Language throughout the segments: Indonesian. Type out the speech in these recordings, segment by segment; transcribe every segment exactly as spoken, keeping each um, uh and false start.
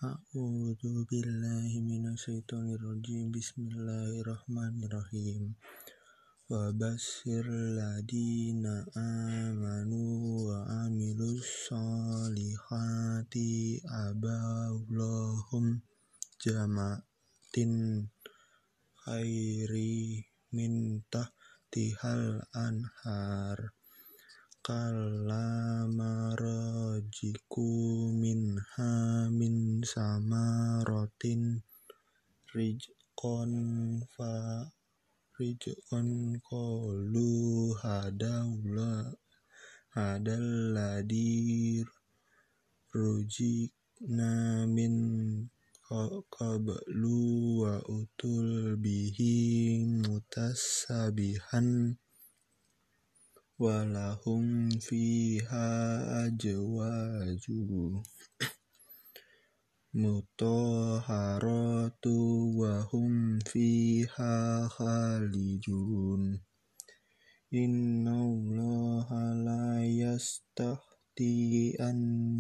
A'udzu billahi minasyaitonir rajim. Bismillahirrahmanirrahim. Wa basyir ladina amanu wa amilus solihati abawlahum jamatin khairi min tahtihal anhar kalamarajiku minha min samarotin rizqan fa rizqan qalu hadawla hadalladir rujikna min qablu wa utul bihi mutasabihan walahum fiha ajwaju mutahharatu wa hum fiha khalidun. Innallaha la yastahti an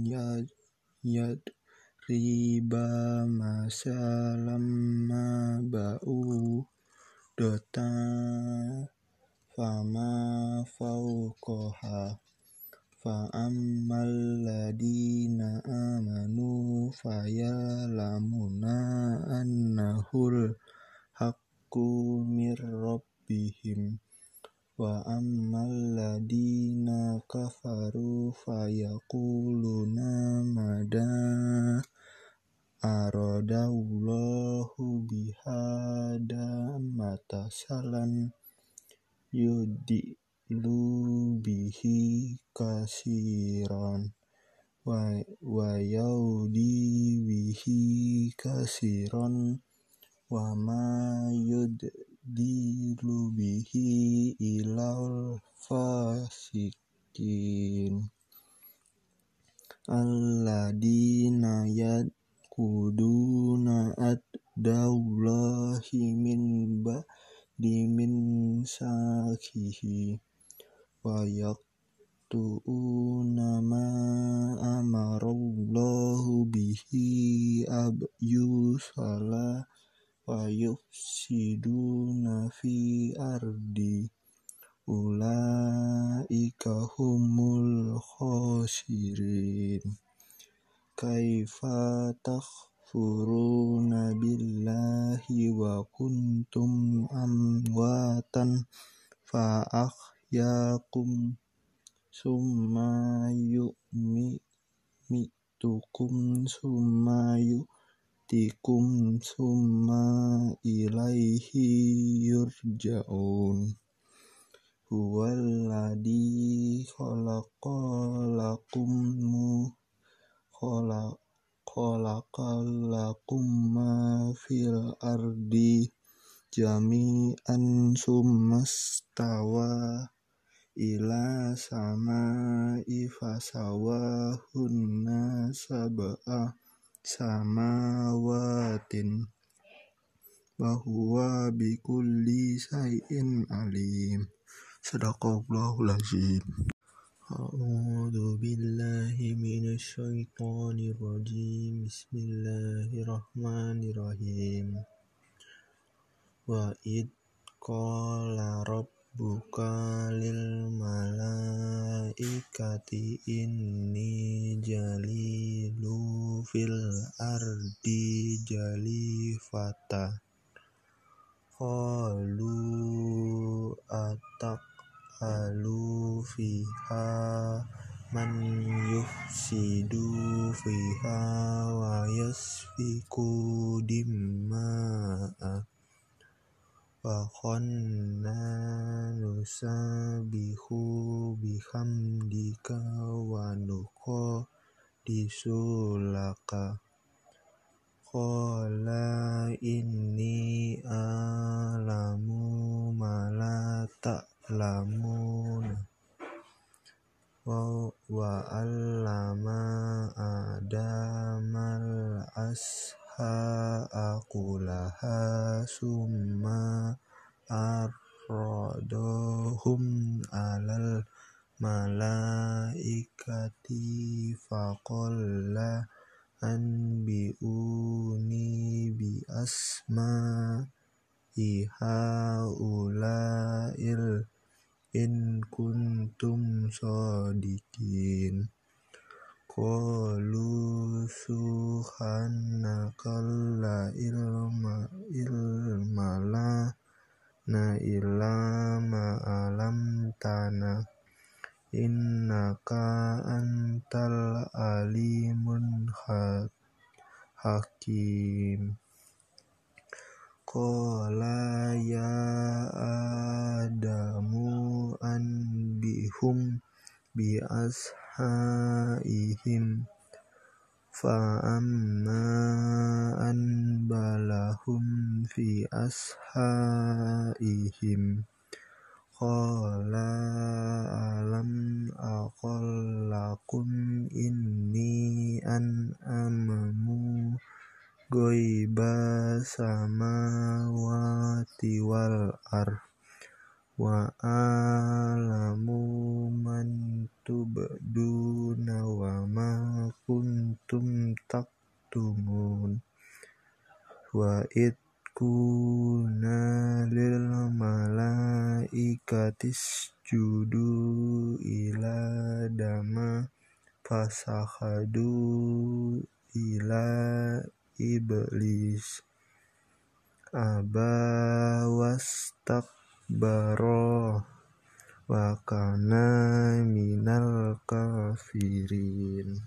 yadriba masalam ma ba'u dota fama fawqaha fa'ammal ladina amanu fayalamuna annahul haqqu mir rabbihim wa ammal ladina kafaru fayaquluna mada aradallahu bihada matasalan yudilu bihi kasiran wa, wa yaudi bihi kasiran wa ma yuddilu bihi ilal fasikin alladina yadkuduna ad-dawlahi min ba'di min sakihi wa yaqtu'una ma amarallahu bihi abyusala wa yufsiduna fi ardi ulaika humul khasirin. Kaifa takfuruna billahi wa kuntum amwatan fa ahyakum summa yu'mitukum summa yu'tikum summa ilaihi yurja'un. Huwallazi khalaqalakum khalaqalakum ma fil ardi jami'an summastawa ila samai fasawahunna sab'a samawatin wa huwa bikulli syai'in alim. Shadaqallahul azim. A'udzu billahi minasyaitonir rajim. Bismillahirrahmanirrahim. Wa id qala rabbuka lil malaikati inni jalilu fil ardi jalifata qalu ataqalu fiha man yufsidu fiha wa yasfiku dimma'a wa khanna nusabihu bihamdika wa nuqaddisulaka qala inni a'lamu ma la ta'lamun wa wa 'allama adamal asha'a kullaha summa aradahum 'alal malaikati faqala anbi'uni bi asma'i haula'il in kuntum shodiqin. Qalu subhanaka la ilma ilma lana illa ma 'allamtana innaka antal alimun hakim. Qala ya Adamu anbihum bi ashaihim fa'amma anbalahum fi ashaihim qala alam aqul lakum inni an'amamu ghaiba samawati wal ardh wa alamu man tubduna wa ma kuntum taktumun wa id kuna lil malaikati isjudu ila Adama fasahadu ila iblis aba wastakbara wa kana minal kafirin.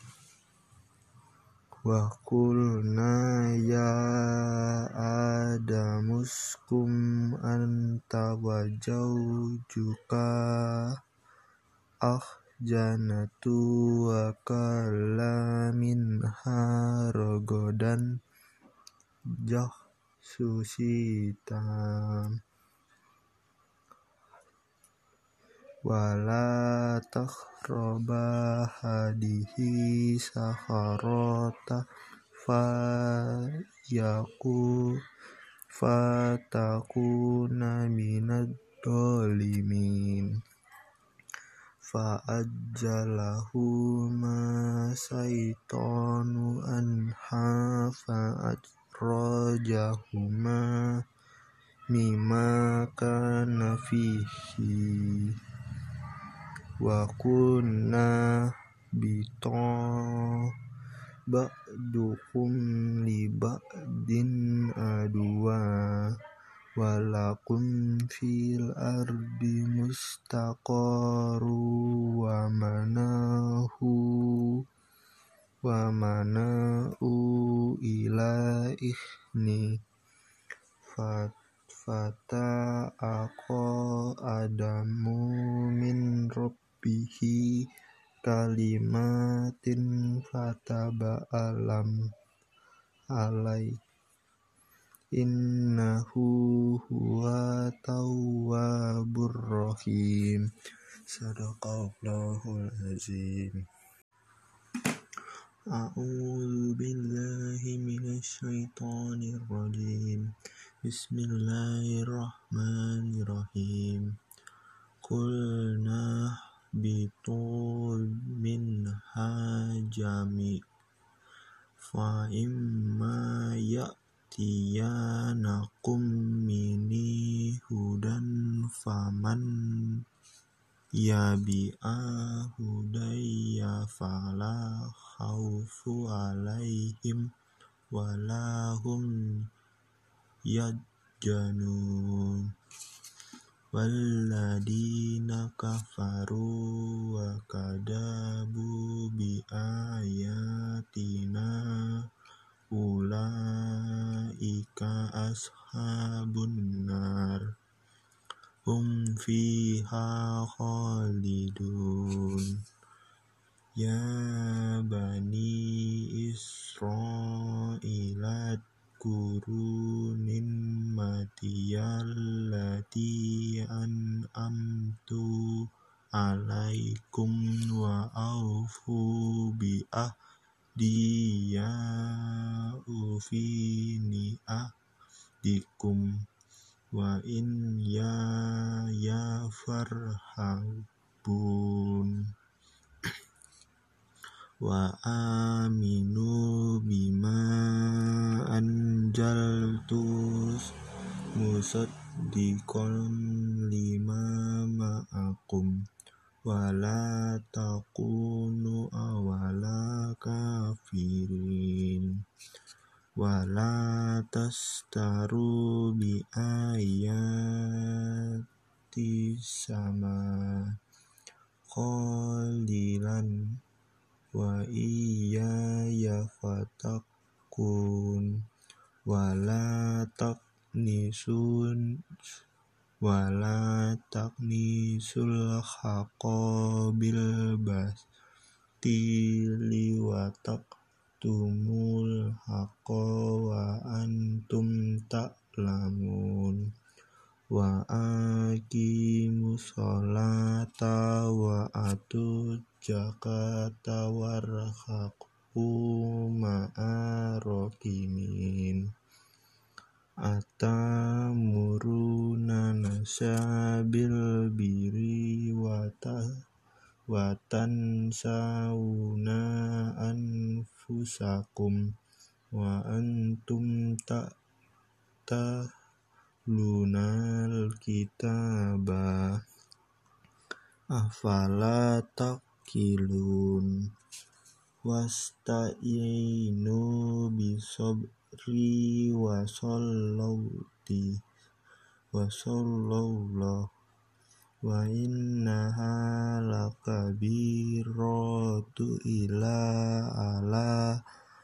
Wa qulna ya Adamu uskun anta wa zawjuka al-jannata wa kula minha ragadan sushitan wala taqraba hadihi sakharata fayaku fatakuna minad dolimin. Fa'ajjalahu ma syaitanu anha fa'ajrajahuma mimma kana fihi wa kunna bito ba'dukum li ba'din adwa walakum fil ardi mustaqarru wa manahu wa mana'u ila ikhni fata ako Adamu min rabbihi kalimatin fataba alam alai innahu huwa tawwabur rahim. Sadaqallahul azim. A'udzu billahi minasy syaithanir rajim. Bismillahirrahmanirrahim. Qulna bitu minha jami' fa imma ya'tiyanakum minni hudan faman yabi'a hudayya fala khaufu alaihim wala hum yahzanun walladina kafaru wa kadabu bi ayatina ulaika ashabun nar hum fiha khalidun. Ya bani Israila kuru ni'matiyallati an'amtu alaikum wa aufu bi ahdi ya ufi ni'ahdikum wa in ya ya farhabun. wa aminu bima anjaltus musaddiqan lima ma'akum wala takunu awala kafirin wala tastaru bi ayati sama qalilan wa iyaya fatakun wala taknisun wala taknisul haqqa bil batili wa taktumul haqqa wa antum ta'lamun wa aqimus sholata wa atuz zakata warhaqu ma'arokimin atamuruna nasa bil biri wa tansawna anfusakum wa antum ta'talunal kitaba afala taqilun wasta'inu bisobri wa sholawti wa sholawlah wa innaha lakabiratu ila ala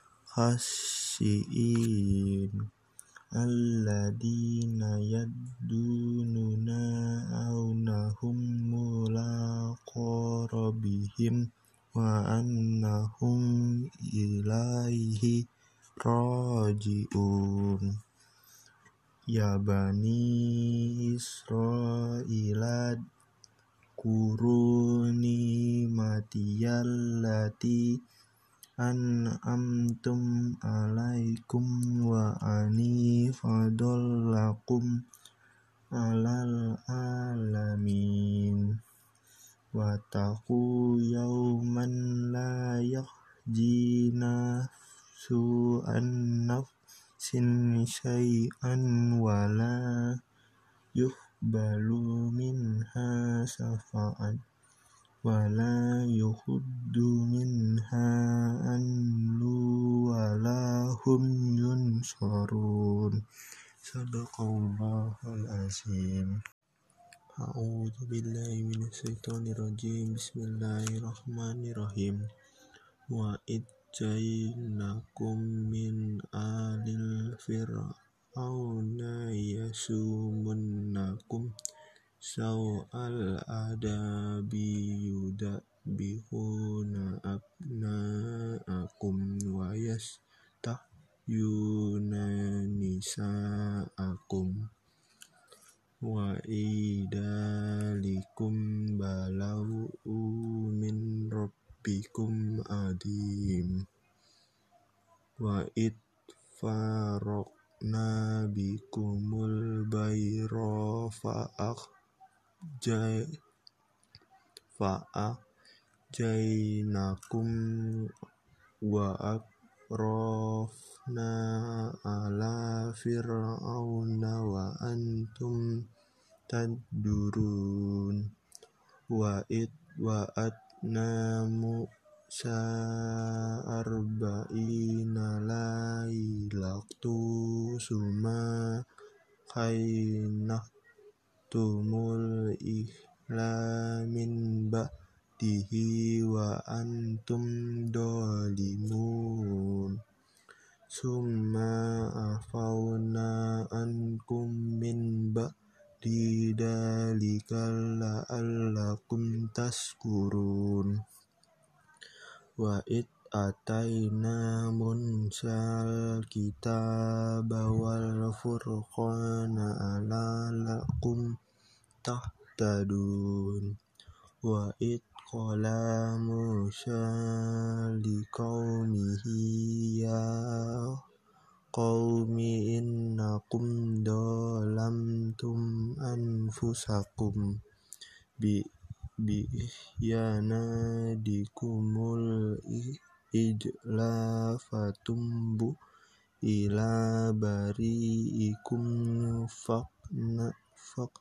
khasyiin alladina yaddununa awnahum mulaqo rabbihim wa annahum ilaihi raji'un ya bani Israila kuruni matiyallati an'amtum alaikum wa ani fadollakum alal alamin wa taqu yawman la yahji nafsu an nafsin syai'an wa la yuhbalu minha syafa'at wa la yuhuddu minha anlu wa la hum yunsarun. Sadaqallahul azim. A'udzu billahi minasyaitonir rajim. Bismillahirrahmanirrahim. Wa idjainakum min alil fir'auna yasumunnakum saw'al adabi yudabbihuna abna'akum wa yastahyuna nisa'akum wa idalikum balau min rabbikum adim wa id farokna bikumul bayro fa'ak jai fa'ak jainakum wa akrofna ala fir'auna wa antum tadurun wa id wa atna Musa arba'ina lailatu suma kainah tumul ihla min ba'dihi wa antum dolimun summa afawna ankum min ba'di dalika la'allakum tashkurun wa id ataina Munsal kitaba wal furqana ala lakum tahtadun wa id qala Musa liqaumihi ya qaumi innakum dolamtum anfusakum bi bi yanadikumul ijla fatumbu ila bari'ikum faqna faq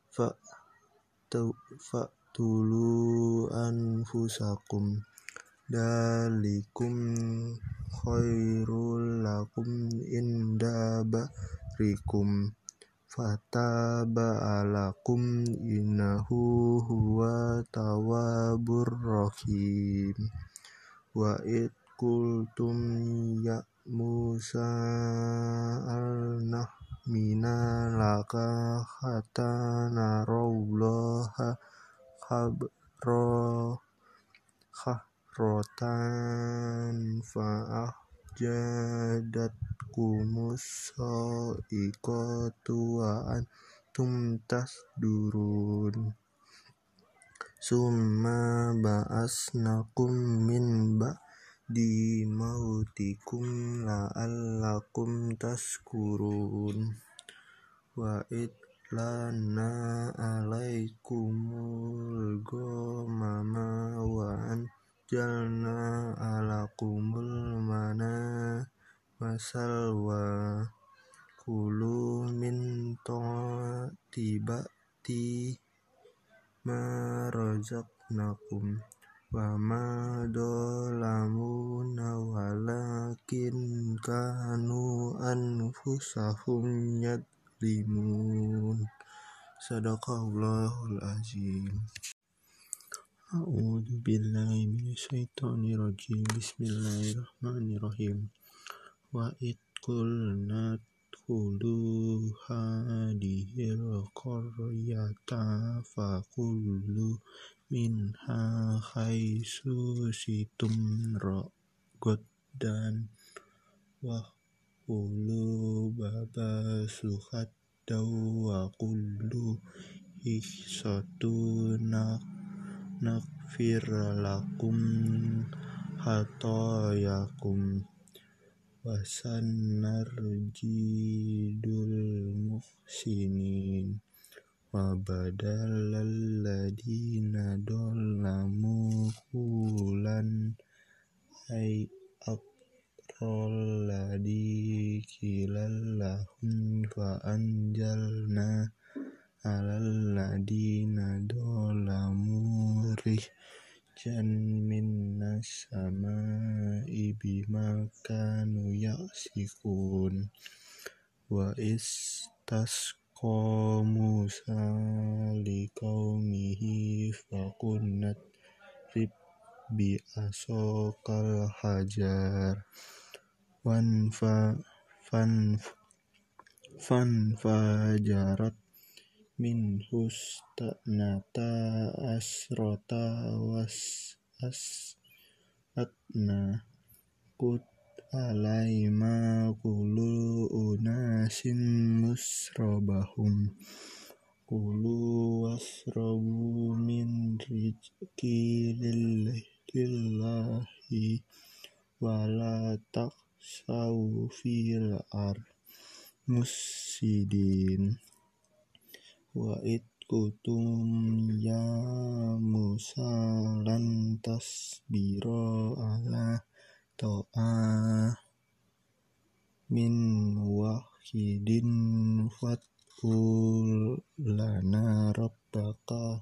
faqtulu anfusakum dalikum khairul lakum inda barikum fataba alakum innahu huwa tawwabur rahim. Wa id qultum ya Musa alnah mina laka hatta narallaha khabro khahrotan fa'ahjadatkumus sa'iqatu wa antum tasdurun summa ba'asnakum min ba'di mautikum la'allakum tashkurun. Wa id lana alaikumul ghamama wa anjalna alakumul mana wasalwa kulu min tibati ma razaqnakum wa ma dolamuna walakin kanu anfusahum yadlimun. Sadaqallahul azim. A'udzu billahi minasyaitonir rajim. Bismillahirrahmanirrahim. Wa id qulna dkhulu hadhil qaryata faqulu minha haitsu shi'tum ragadan wa qulu baba suhaddaw wa qulu ihsatun naghfir lakum khatayakum wasanarjidul muhsinin. Wa badalal ladina dolamu qulan ay aqrol ladhi kilallahum fa anjalna alal ladina dolamu rijjan minnas sama'i bima kanu ya'sikun. Wa istasqa Musa liqaumihi faqulna idrib bi asokal hajar wan fa fan fanfajarat min husnata asrota was asatna qut alaima kulu unasin musrabahum kulu wasrabu min rizqi lillahi wala taqsaw fil ard mufsidin. Wa id qultum ya Musa lan tasbira ala ta'a min wahidin fad'u lana rabbaka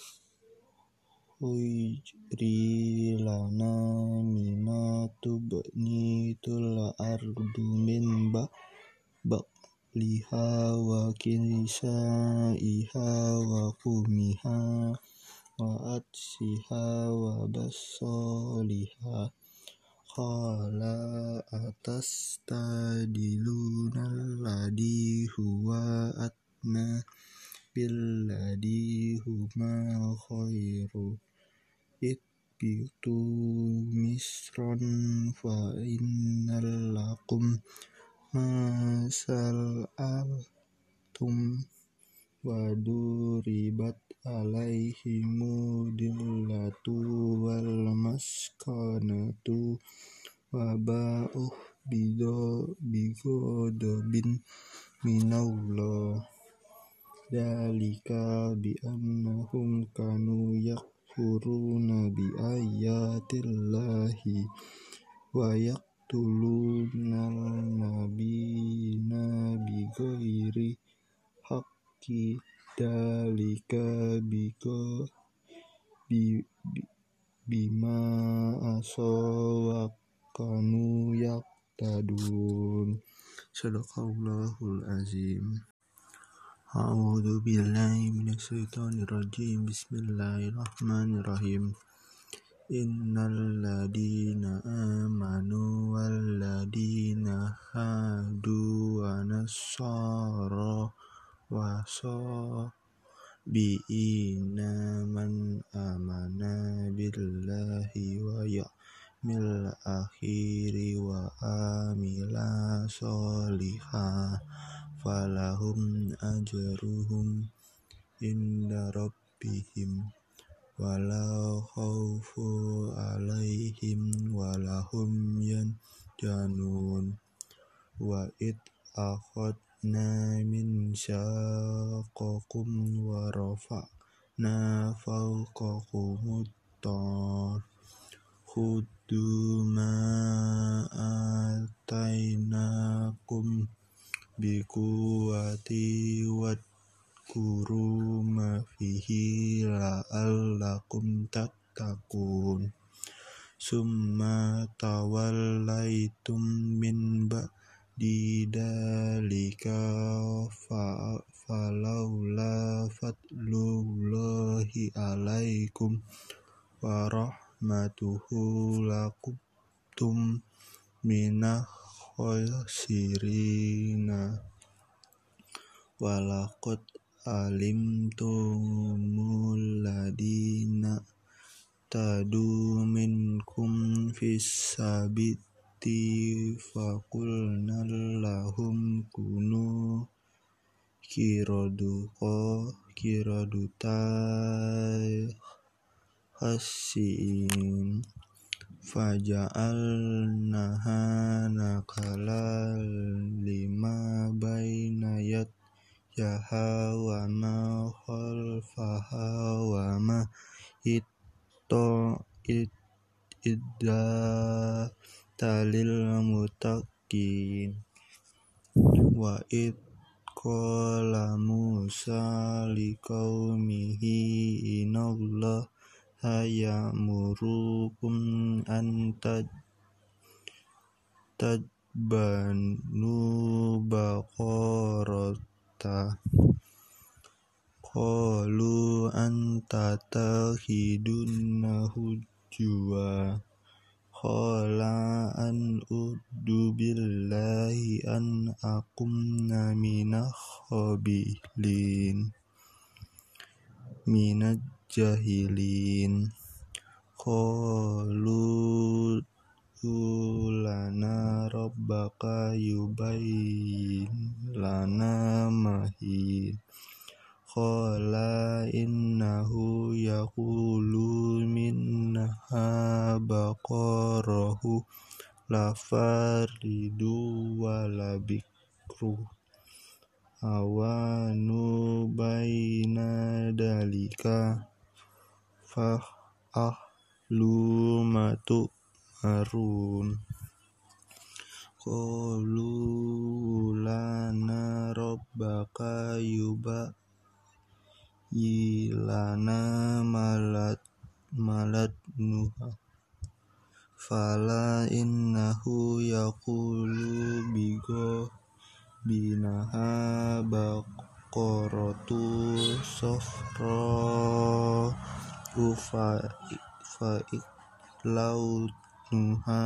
ujri lana mimma tubnitul ardu min ba'liha wa kisaiha wa kumiha wa adsiha wa basoliha qala atastadiluna alladhi huwa adna billadhi huma khairu itbitu misran fa innal lakum masal altum wa duribat alaihimu dillatu wal maskanatu wa ba'uh bido bigodobin minallah Dalika bi annahum kanu yakfuruna bi ayatillahi wa yaqtulunal nabiyina bi ghairi haqqi. Dalika biko bi, bi, bima asaw wa kanu yaqtadun. Sadaqallahul azim. A'udzu billahi minasyaitonir rajim. Bismillahirrahmanirrahim. Innal ladina amanu wal ladina hadu wa nassara wa sabiina man amana billahi wa ya'mil akhiri wa amila sholiha falahum ajruhum inda rabbihim wala khaufu alaihim walahum yanjanun. Wa id akhadna min syaqakum wa rafa'na fawqakumut tur khudhu ma atainakum biquwwati wadhkuru ma fihi la'allakum tattaqun. Summa tawallaitum min ba'di dzalika falawla fadlullahi alaikum wa rahmatuhu lakuntum minal khasirina. Walaqad alimtumul ladina tadu minkum fis sabiti faqulna lahum kunu kiraduqa kiraduta khasiin faja'alnaha nakala lima baina yadayha wa ma khalfaha wa ma ito idda talil muttaqin. Wa id qala Musa liqaumihi innallaha ya'murukum an tadbanu baqarata qalu anta takhidunna hujwa qala an uddu billahi an akumna minakh khabilin minaj jahilin. Qalu lana rabbaka yubayyin lana mahi qala innahu yaqulu minnaha baqarahu la faridu wa la bikru awanu baina dalika fa ahlu matu marun. Qalu lana rabbaka yubayyilana malat malat nuha fala innahu yaqulu bigo binaha baqaratu safra ufa fa'ilau nuha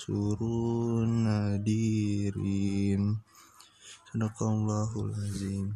tasurun nadirin. Sadaqallahul azim.